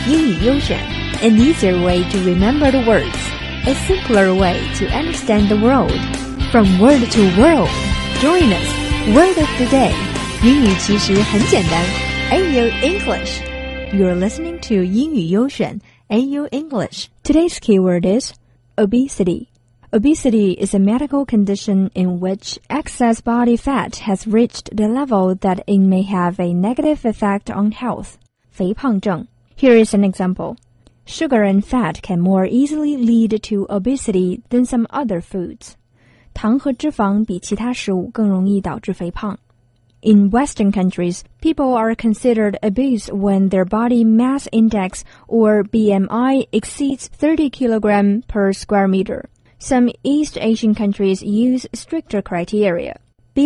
英语优选 An easier way to remember the words, a simpler way to understand the world. From word to world, join us. Word of the day. 英语其实很简单 AU English. You're listening to 英语优选 AU English. Today's keyword is obesity. Obesity is a medical condition in which excess body fat has reached the level that it may have a negative effect on health. 肥胖症. Here is an example. Sugar and fat can more easily lead to obesity than some other foods. 糖和脂肪比其他食物更容易导致肥胖。In Western countries, people are considered obese when their body mass index or BMI exceeds 30 kg per square meter. Some East Asian countries use stricter criteria.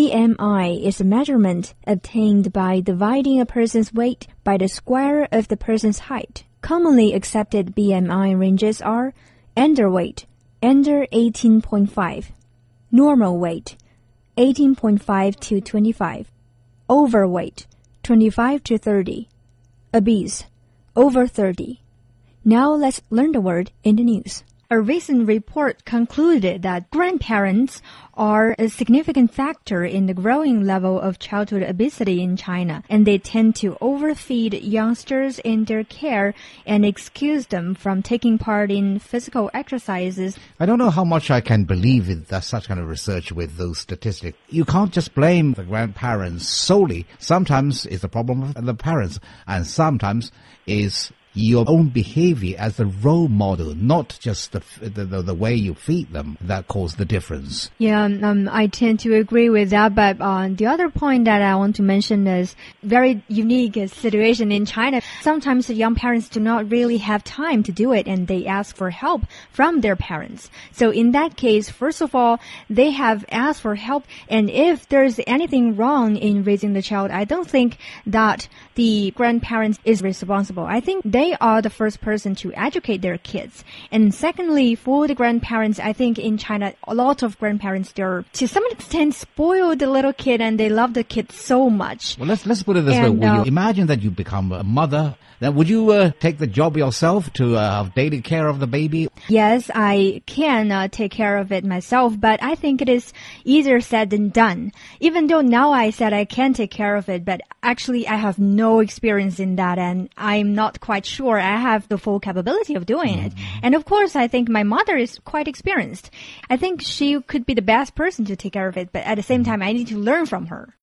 BMI is a measurement obtained by dividing a person's weight by the square of the person's height. Commonly accepted BMI ranges are underweight, under 18.5, normal weight, 18.5 to 25, overweight, 25 to 30, obese, over 30. Now let's learn the word in the news. A recent report concluded that grandparents are a significant factor in the growing level of childhood obesity in China, and they tend to overfeed youngsters in their care and excuse them from taking part in physical exercises. I don't know how much I can believe in such kind of research with those statistics. You can't just blame the grandparents solely. Sometimes it's a problem of the parents, and sometimes it's your own behavior as a role model, not just the way you feed them that cause the difference. Yeah, I tend to agree with that, but the other point that I want to mention is very unique situation in China. Sometimes the young parents do not really have time to do it, and they ask for help from their parents. So in that case, first of all, they have asked for help, and if there's anything wrong in raising the child, I don't think that the grandparents is responsible. I think they are the first person to educate their kids. And secondly, for the grandparents, I think in China, a lot of grandparents, they're to some extent spoil the little kid and they love the kid so much. Well, let's put it this way. Will you imagine that you become a mother? Then would you take the job yourself to have daily care of the baby? Yes, I can take care of it myself, but I think it is easier said than done. Even though now I said I can take care of it, but actually I have no experience in that, and I'm not quite sure I have the full capability of doing it. And of course, I think my mother is quite experienced. I think she could be the best person to take care of it, but at the same time, I need to learn from her.